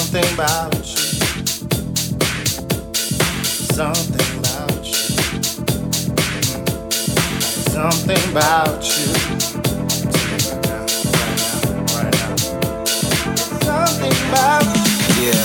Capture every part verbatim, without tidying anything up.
Something about you. Something about you. Something about you. Right now, right now, right now. Something about you. Yeah.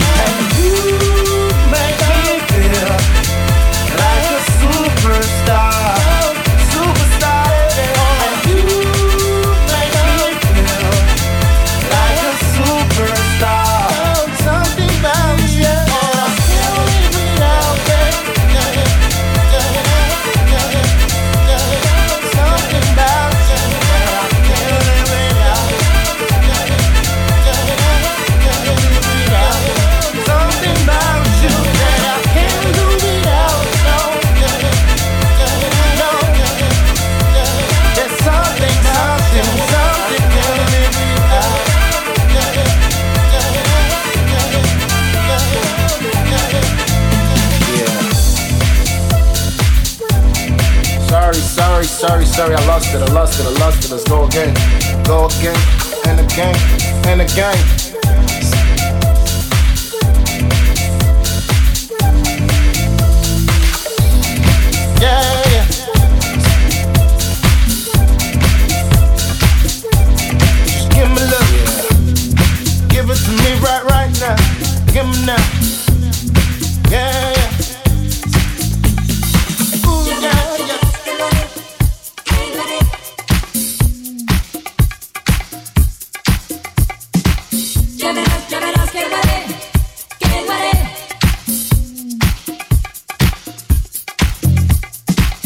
Make me feel like a superstar. sorry, sorry, sorry, sorry. I lost it, I lost it, I lost it. Let's go again, go again, and again, and again. Yeah, yeah. Just give me love, yeah. Give it to me right, right now. Give me now. Yeah, yeah. Ooh, yeah, yeah. Ya verás, ya verás que lo haré, que lo haré.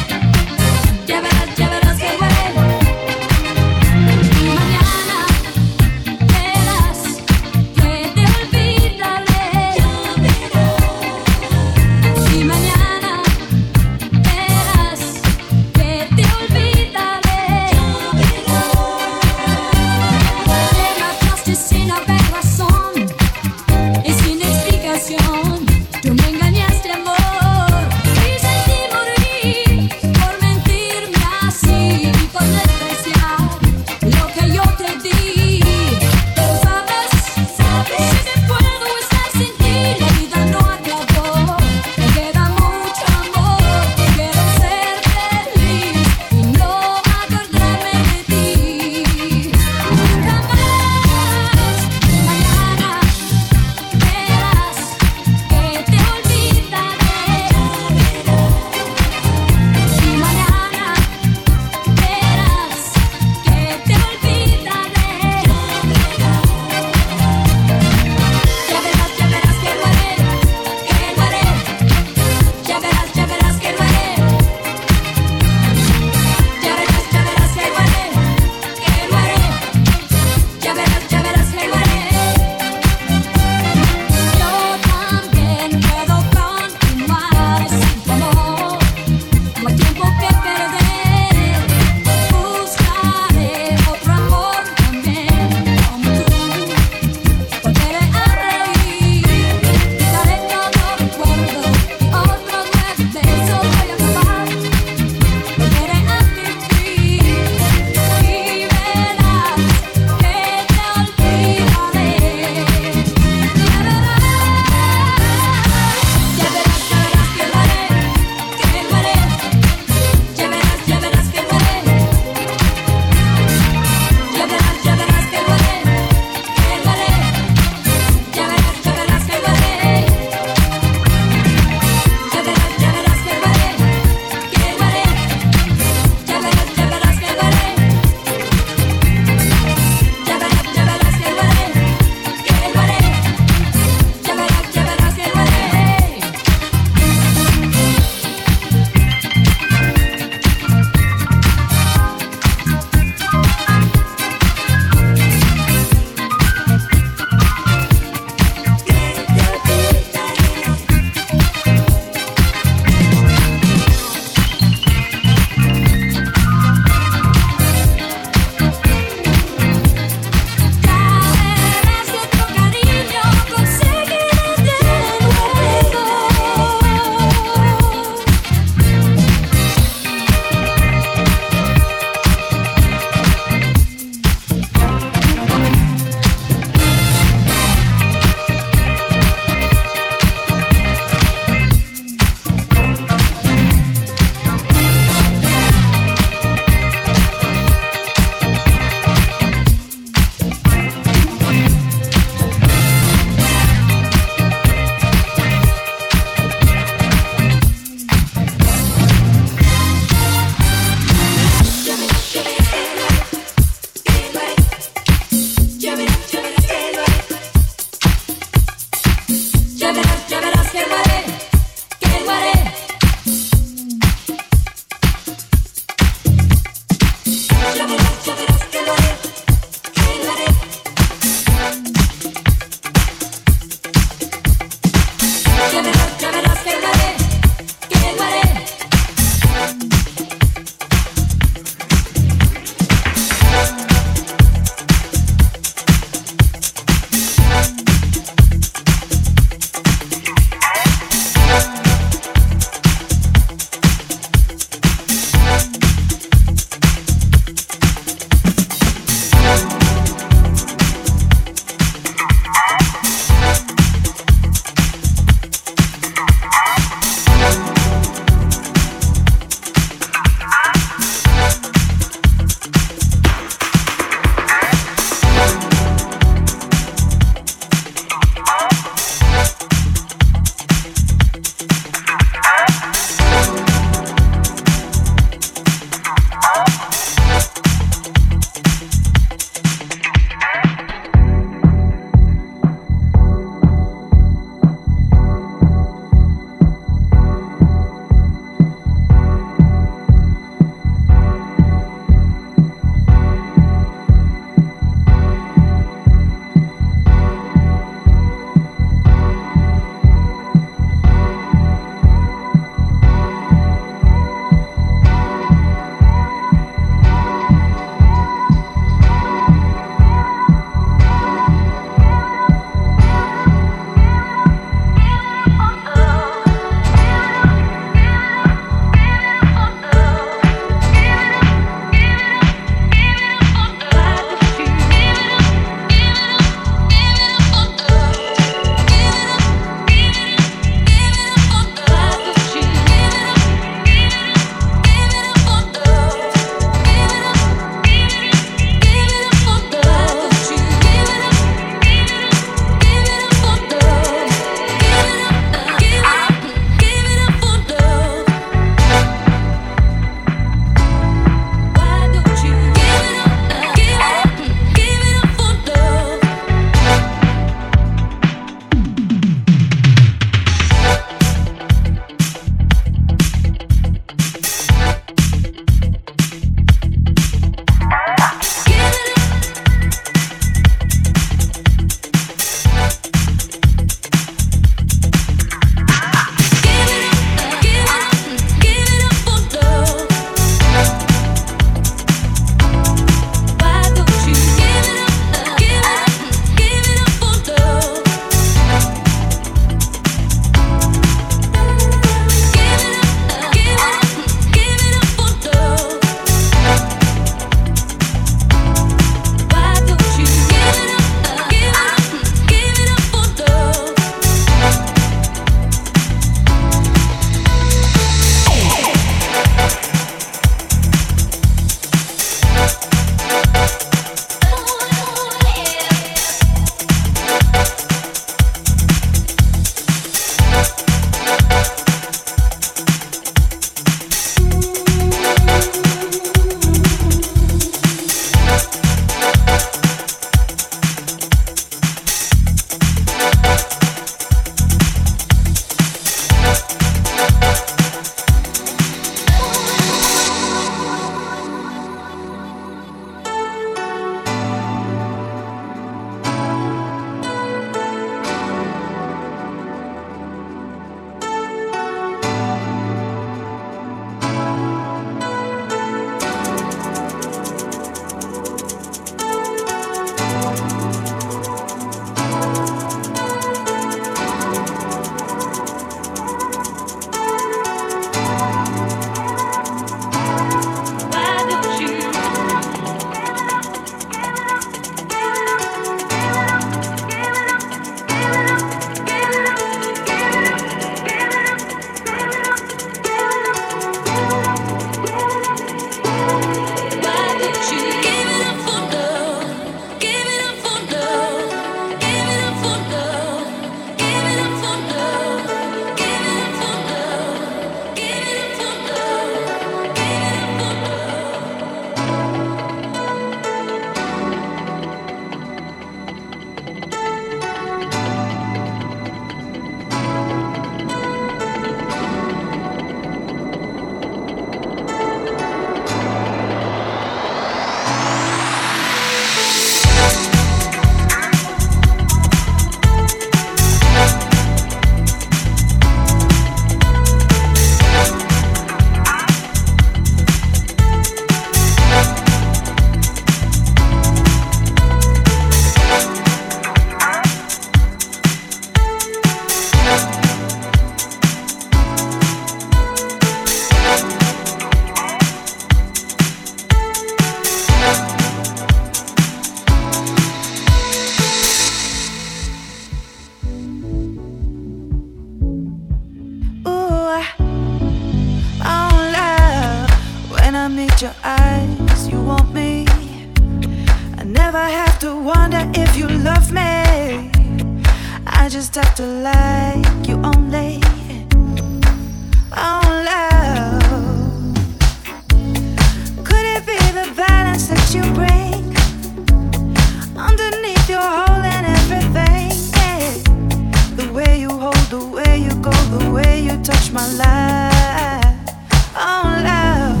never have to wonder if you love me. I just have to like you only. Oh, love. Could it be the balance that you bring underneath your hole and everything? Yeah. The way you hold, the way you go, the way you touch my life. Oh, love.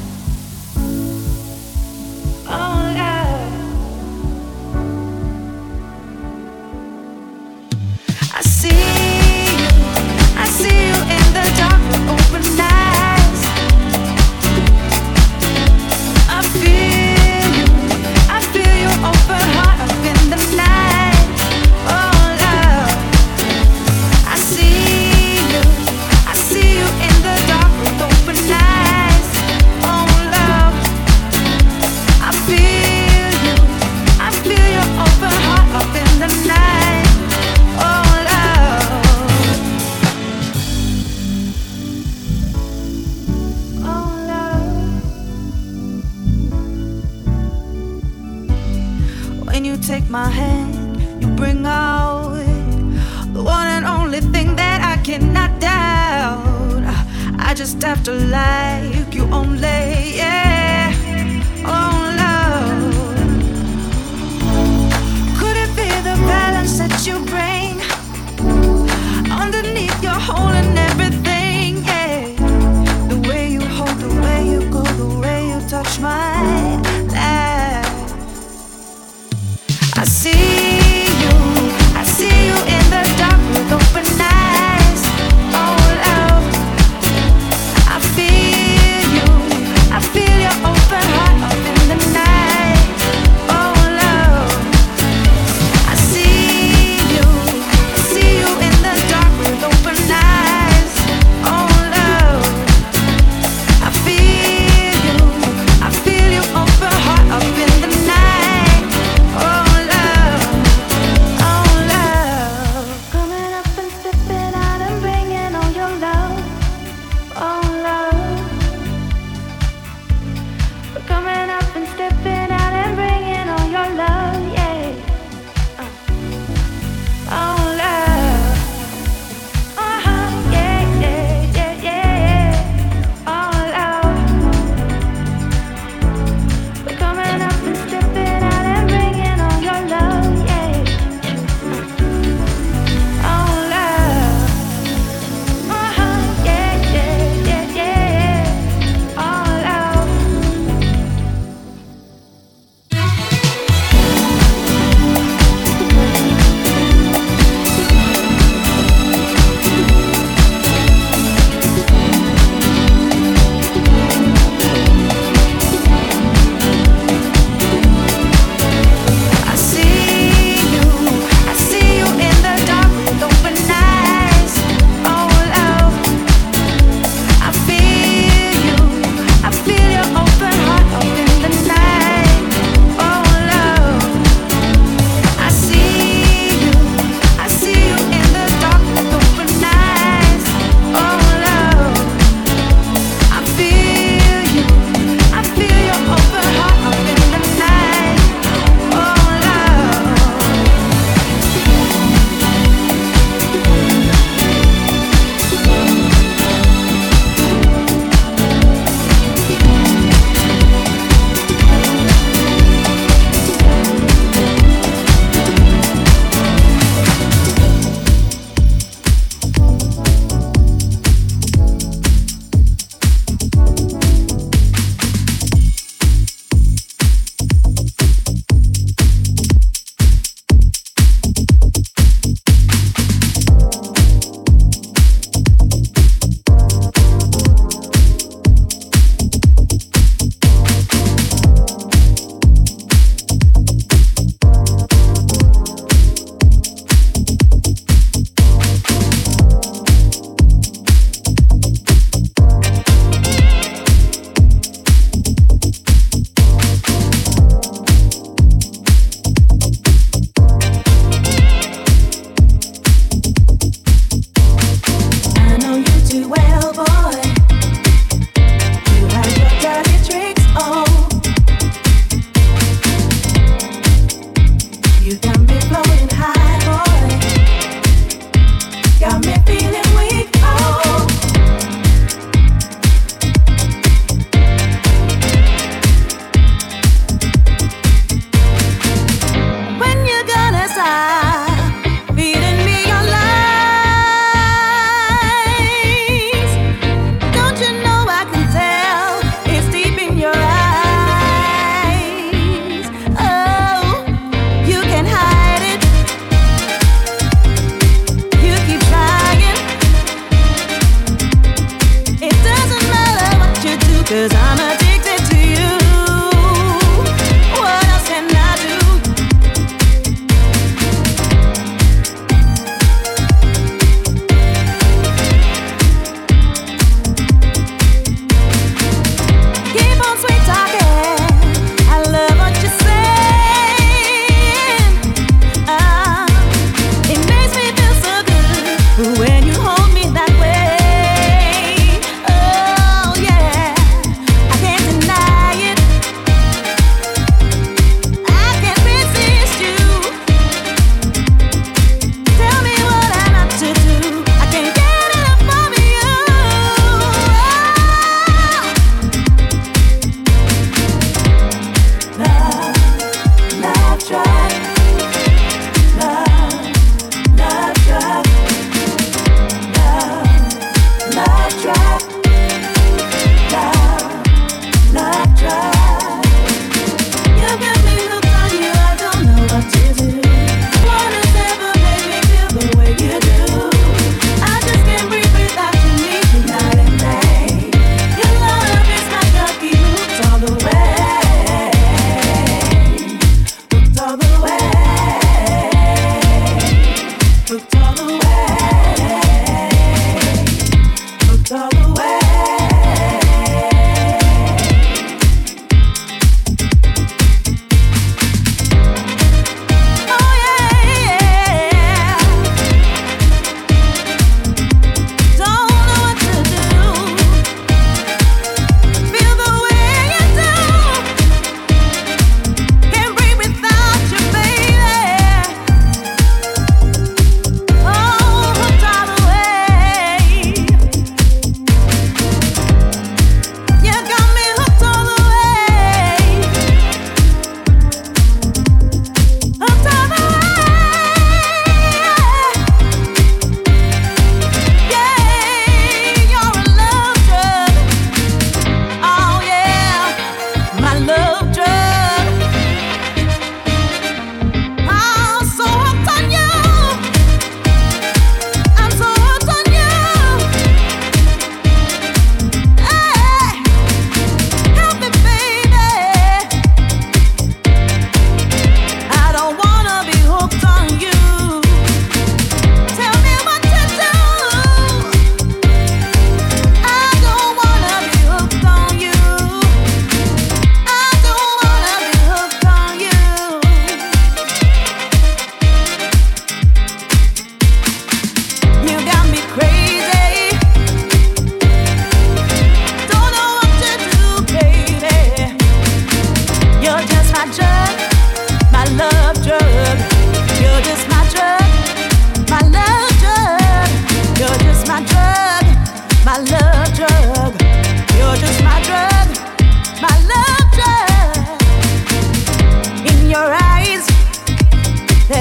Oh, love. I see you, I see you in the dark with open eyes. I feel you, I feel your open heart up in the night. Oh, love. I see you, I see you in the dark with open eyes. Oh, love. I feel you, I feel your open heart up in the night. Oh, love. Oh, love. When you take my hand, you bring out the one and only thing that I cannot doubt. I just have to like you only, yeah. Oh, love. Could it be the balance that you bring underneath your hole and everything, yeah. The way you hold, the way you go, the way you touch my life. I see you, I see you in the dark with open eyes. Oh, love. I feel you, I feel your open heart up in the night. Oh, love. I see you, I see you in the dark with open eyes. Oh, love. I feel you, I feel your open heart up in the night. Oh, love.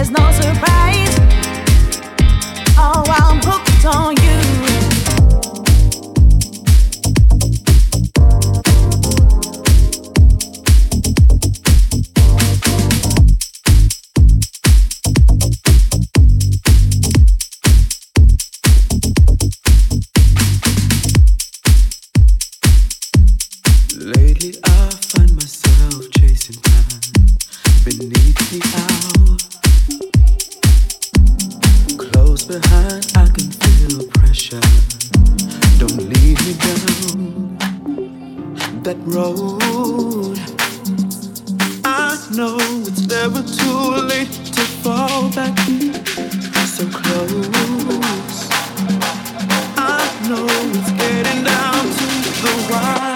there's no surprise. Oh, I'm hooked on you. Lately I find myself chasing time beneath the owl. Close behind, I can feel pressure. Don't lead me down that road. I know it's never too late to fall back so close. I know it's getting down to the wire.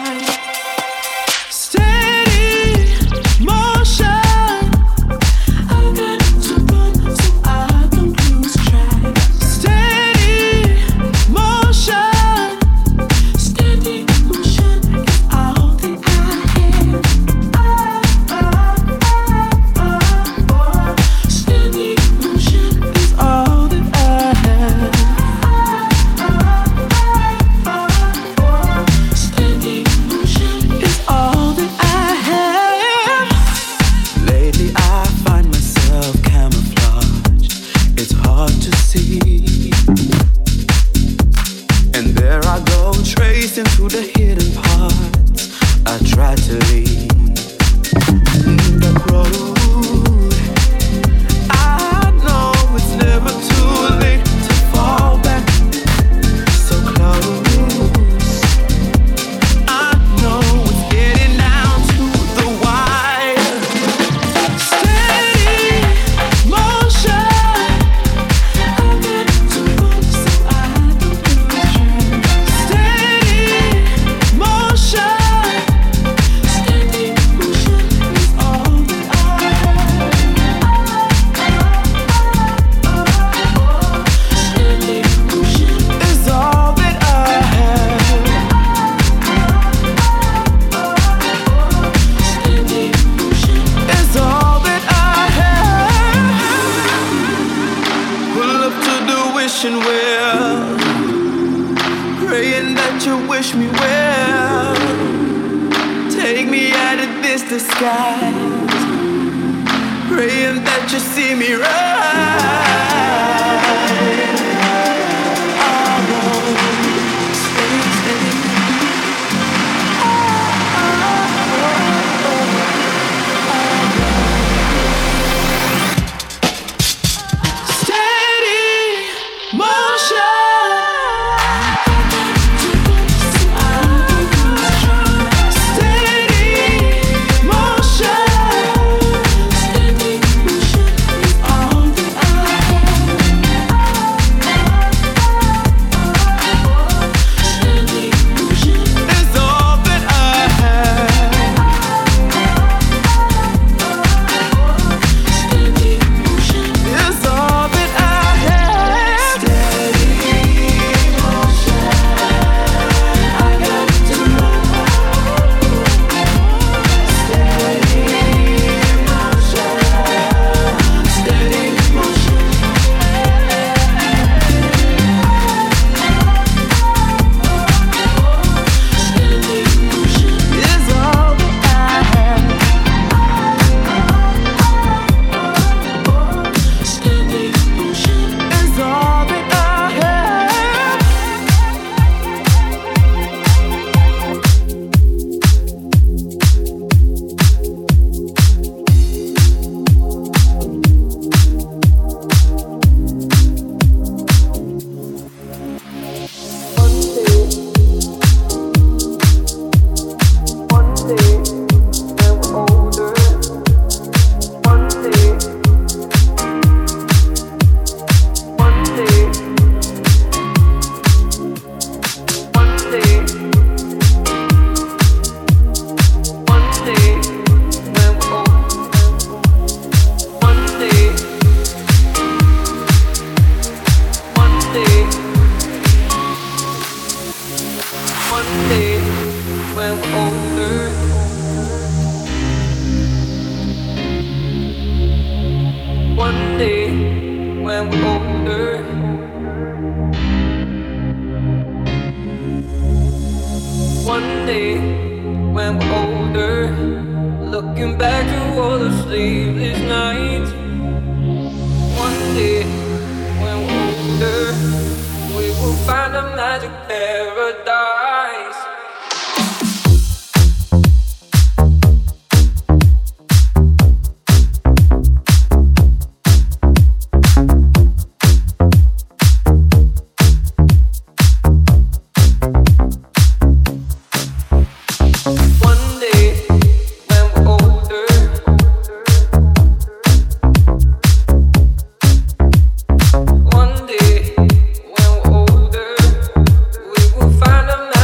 All older, looking back to all the sleepless nights. One day, when we're older, we will find a magic paradise. Find a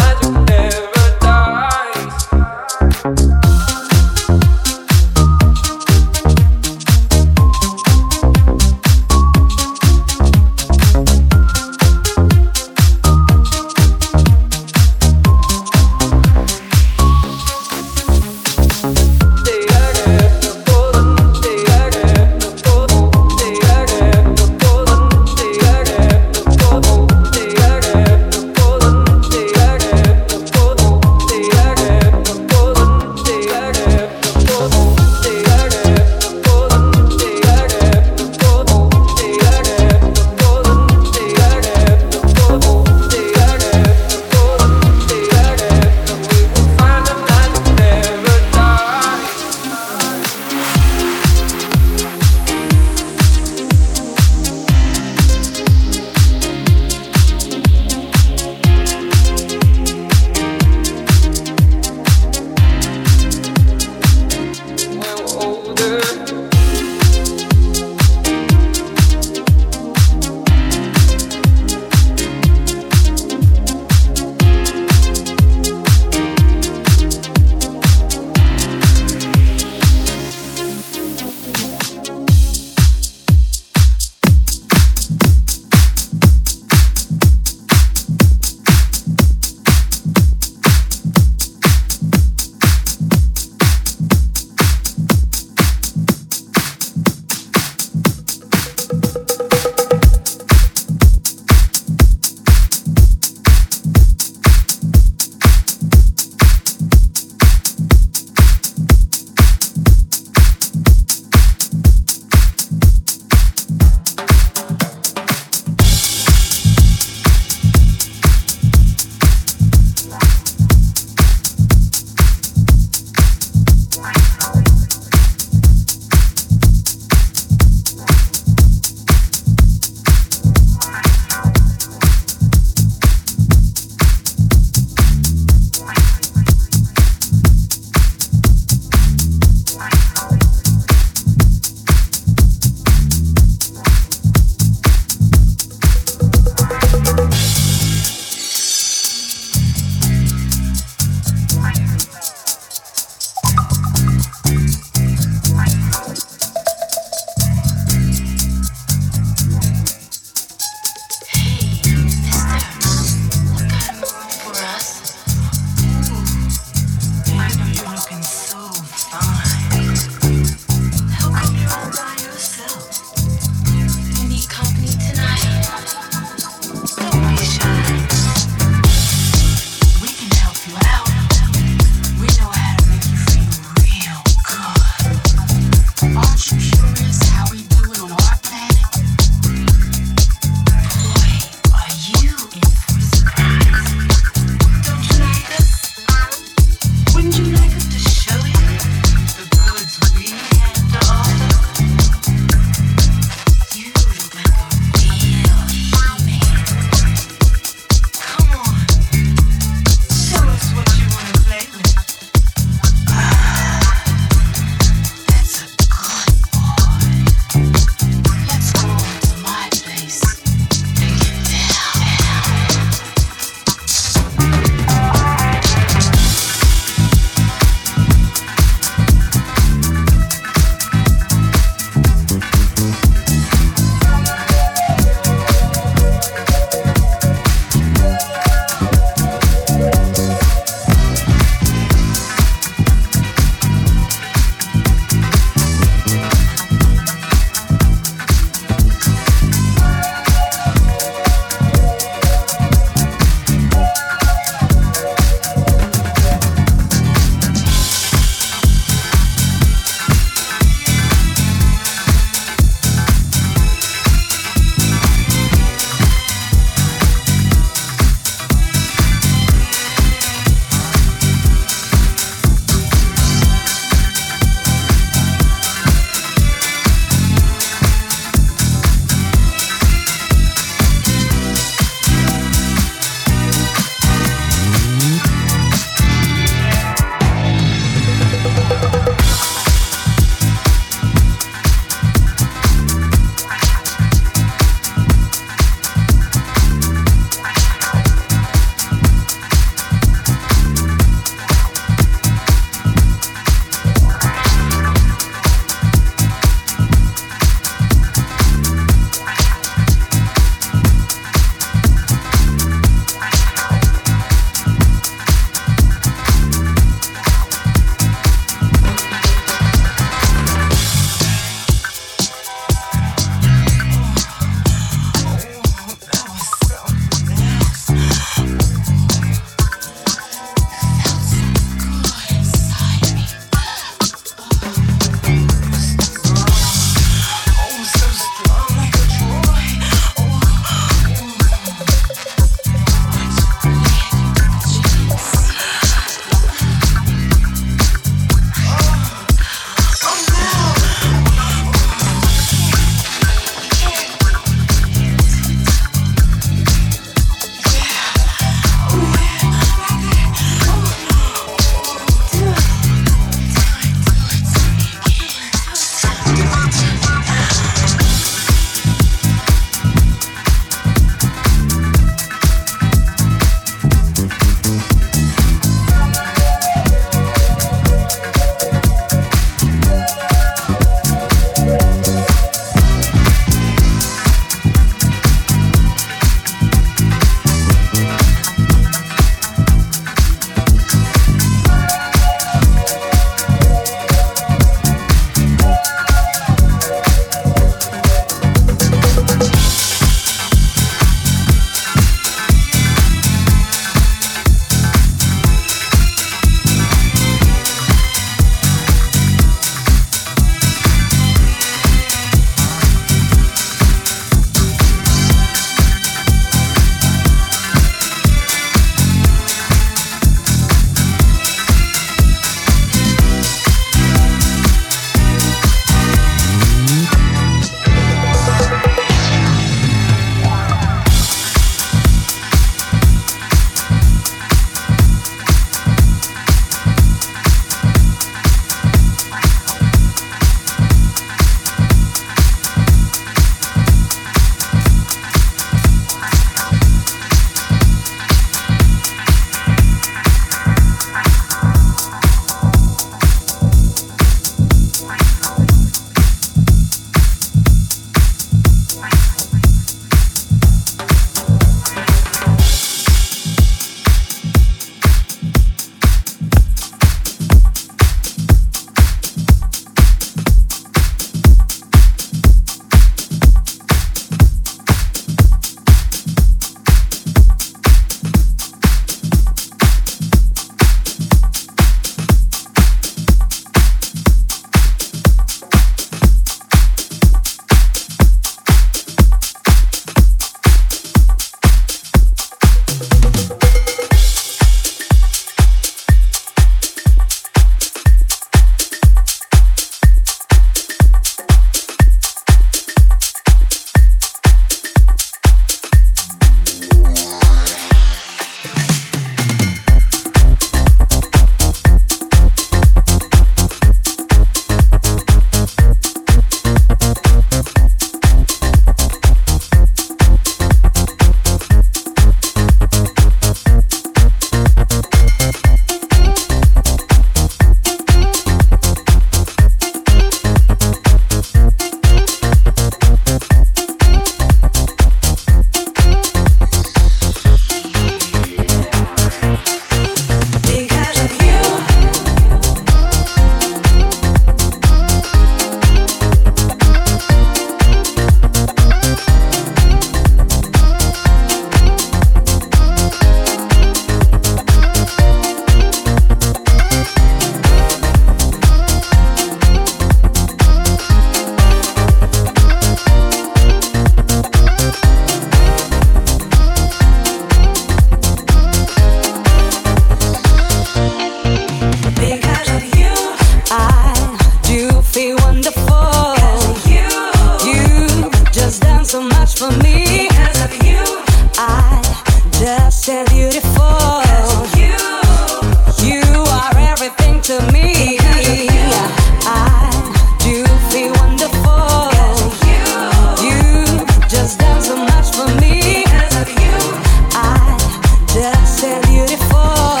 just as beautiful. You, you are everything to me. I do feel wonderful. You just done so much for me. I just as beautiful.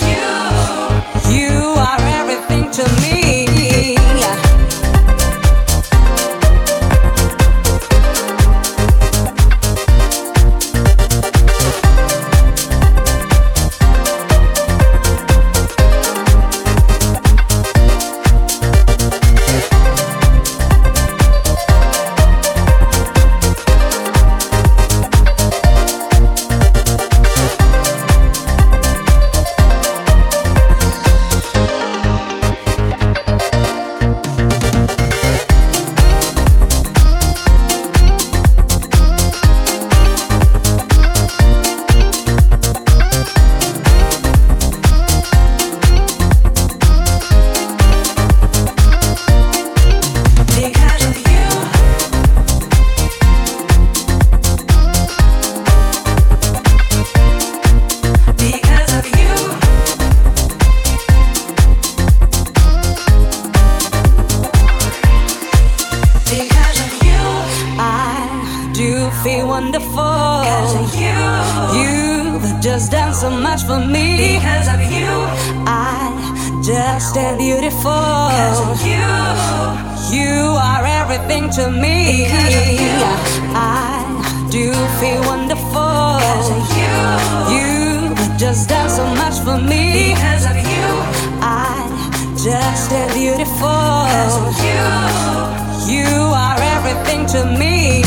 You are everything to me. Feel wonderful. You, you've just done so much for me. Because of you, I just am beautiful. Because of you, you are everything to me. I do feel wonderful. Because of you, you've just done so much for me. Because of you, I just am beautiful. Because of you, you are everything to me.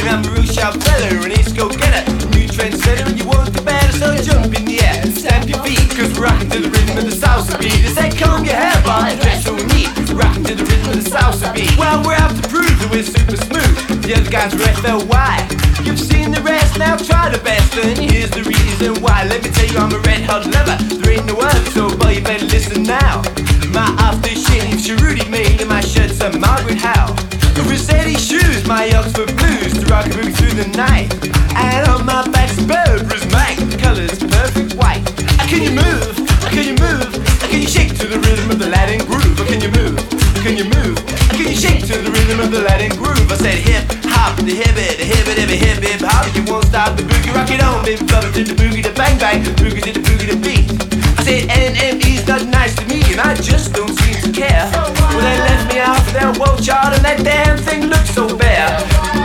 And I'm a real sharp fella, an ace go-getter, new trendsetter, and you won't do better, so jump in the air, stamp your feet, cause we're rocking to the rhythm of the salsa beat. I say comb your hair, Bob, and dress so neat, rocking to the rhythm of the salsa beat. Well, we're out to prove that we're super smooth, the other guys are F L Y. You've seen the rest, now try the best, and here's the reason why. Let me tell you I'm a red hot lover, there ain't no other, so boy you better listen now. My aftershave Cherudy made and my shirt's a Margaret Howe. The Rossetti shoes, my Oxford blues, to rock a boogie through the night. And on my back's Burberry's Mike, the colour's perfect white. Can you move? Can you move? Can you shake to the rhythm of the Latin groove? Can you move? Can you move? Can you shake to the rhythm of the Latin groove? I said hip hop, the hip it, the hip it, the hip hip hop. You won't stop the boogie, rock it on, baby, bubble to the boogie, the bang bang, boogie to the boogie, the beat. I said N M E's not nice to me, and I just don't seem to care. Well, they left me out for their world chart, and that damn thing looks so bare.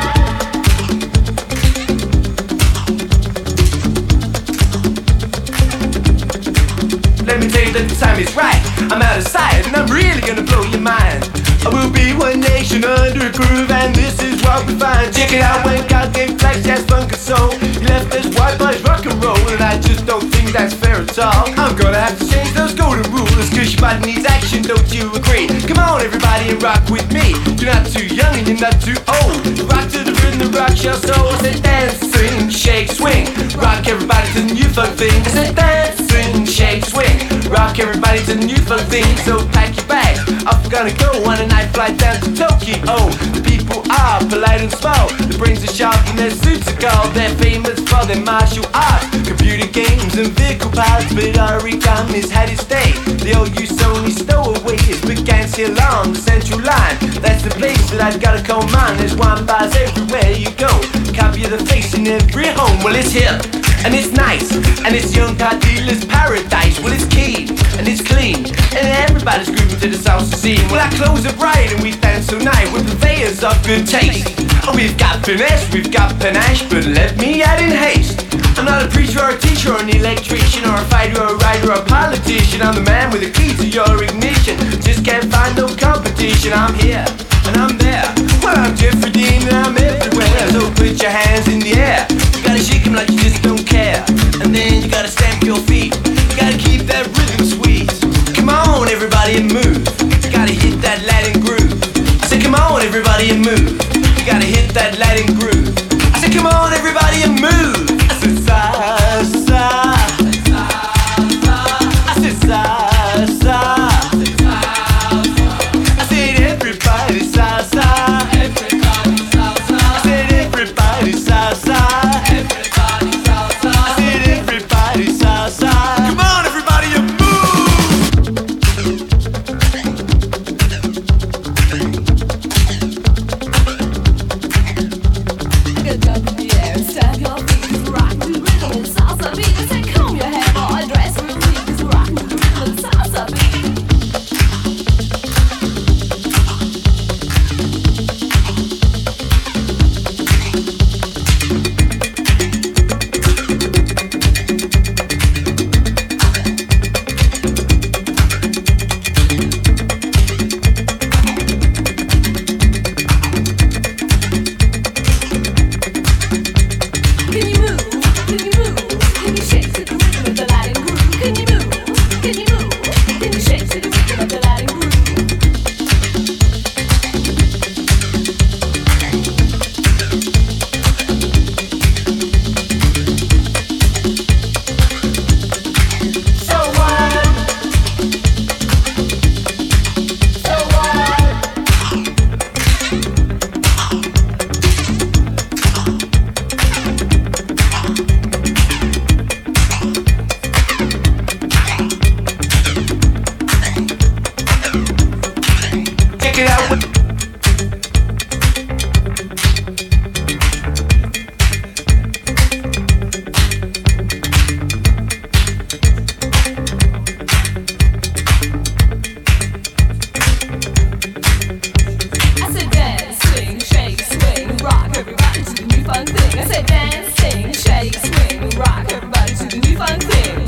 Let me tell you that the time is right. I'm out of sight and I'm really gonna blow your mind. I will be one nation under a groove, and this is what we find. Check it out when God gave flex, jazz, funk and soul. He left us white boys rock and roll, and I just don't think that's fair at all. I'm gonna have to change those golden rules, cause your body needs action, don't you agree? Come on everybody and rock with me. You're not too young and you're not too old. Rock to the rhythm, rock your soul. I said dance, sing, shake, swing. Rock everybody to the new funk thing. I said dance, sing, shake, swing. Rock everybody to the new funk thing. So pack your bags, off we're gonna go on a night flight down to Tokyo. The people are polite and small, their brains are sharp and their suits are gold. They're famous for their martial arts, computer games and vehicle parts. But origami's had its day, the old use only stowaways began to along the central line. That's the place that I've gotta call mine. There's wine bars everywhere you go, copy of the face in every home. Well, it's hip and it's nice, and it's young car dealer's paradise. Well, it's keen and it's clean, and everybody's grooving to the salsa scene. Well, our clothes are bright and we dance so nice, we're purveyors of good taste. Oh, we've got finesse, we've got panache, but let me add in haste. I'm not a preacher or a teacher or an electrician or a fighter or a writer or a politician. I'm the man with the key to your ignition, just can't find no competition. I'm here and I'm there, well, I'm Jeffrey Dean and I'm everywhere. So put your hands in the air, you gotta shake them like you just don't care. And then you gotta stamp your feet, you gotta keep that rhythm sweet. Come on everybody and move, you gotta hit that Latin groove. I said come on everybody and move, you gotta hit that Latin groove. I said come on everybody and move. I said salsa, I said salsa, I said everybody salsa, I said everybody salsa, I said everybody salsa. Come on everybody and Get up in the air, stamp your feet, rock to the rhythm and salsa beat. I said comb your hair, boy, dress real neat, 'cause rock to the rhythm and salsa beat. Can you move? Can you move? Can you shake to the rhythm of the Latin groove? Can you move? Can you move? Can you shake to the rhythm of the Latin groove? So what? So what? Check it out. I said dance, swing, shake, swing, rock everybody to the new fun thing. I said dance, sing, shake, swing, rock everybody to the new fun thing.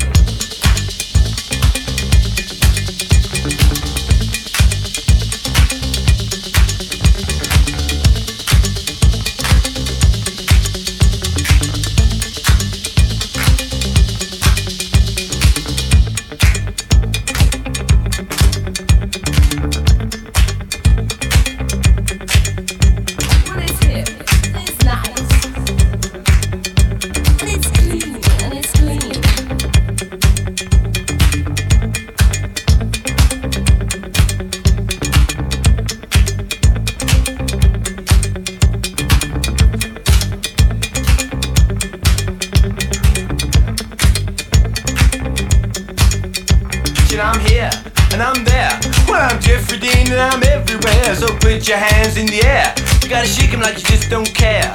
Aberdeen and I'm everywhere. So put your hands in the air. You gotta shake 'em like you just don't care.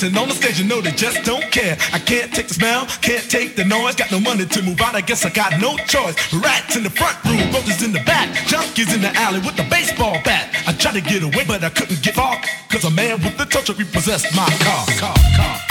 dancing on the stage, you know they just don't care. I can't take the smell, can't take the noise. Got no money to move out, I guess I got no choice. Rats in the front room, roaches in the back, junkies in the alley with the baseball bat. I tried to get away, but I couldn't get far, cause a man with the touch repossessed my car, car, car.